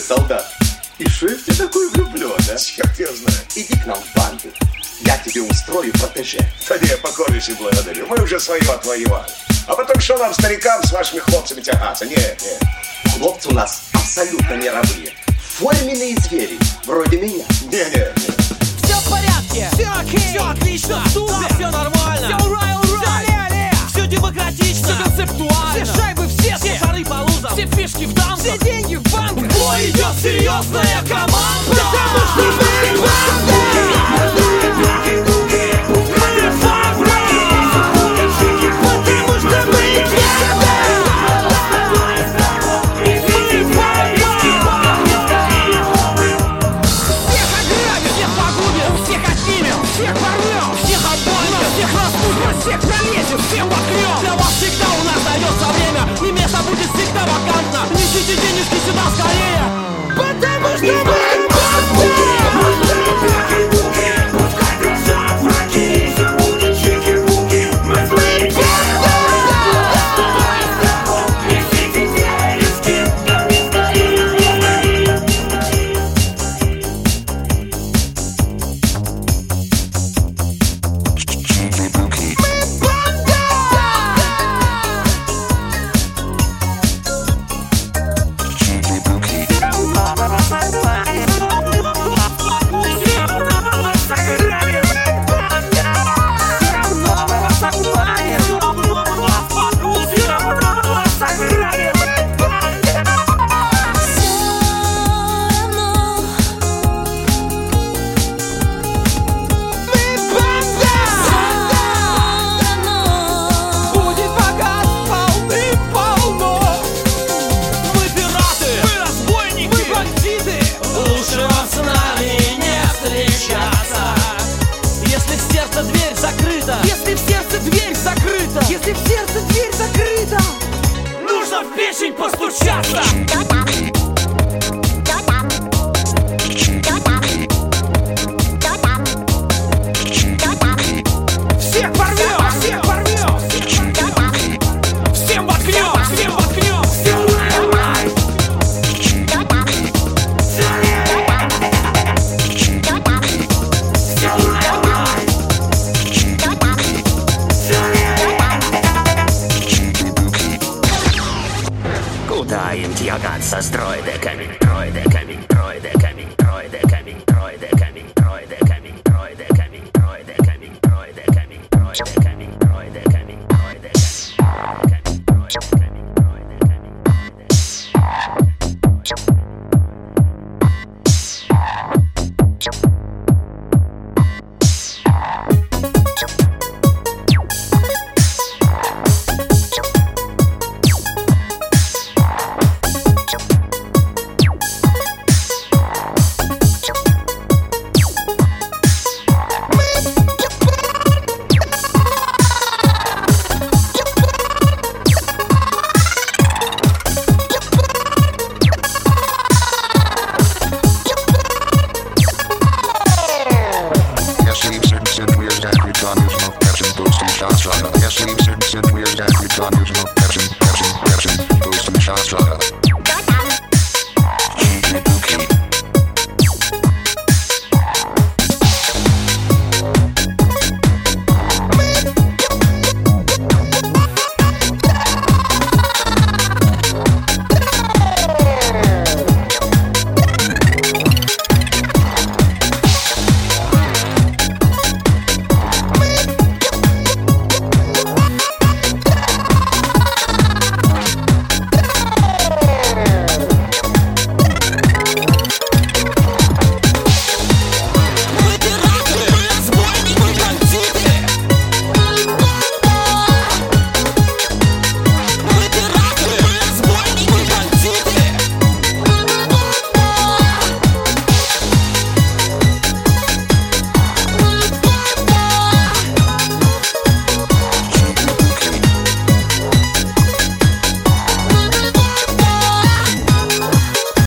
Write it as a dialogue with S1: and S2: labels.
S1: солдат. И шеф ты такой влюблен, а?
S2: Черт я знаю.
S1: Иди к нам в банду. Я тебе устрою протеже.
S2: Да не, покорнейше благодарю. Мы уже свое отвоевали. А потом что нам, старикам, с вашими хлопцами тягаться? Нет.
S1: Хлопцы у нас абсолютно мировые. Форменные звери, вроде меня.
S2: Не.
S3: Все в порядке, все окей, все отлично, да, все нормально, все ура, все демократично, все концептуально, все шайбы все шары по лузам, все фишки в дамках, все деньги в банках. В бой идет серьезная команда, потому что мы банда. Всех пролезем, всем воткнем. Для вас всегда у нас дается время, и место будет всегда вакантно. Несите денежки сюда скорее, потому что мы если в сердце дверь закрыта, нужно в печень постучаться. Всех порвем, всех порвем, всем воткнем, всем воткнем.
S4: Куда им тягаться с дроидеками, дроидеками, дроидеками, дроидеками?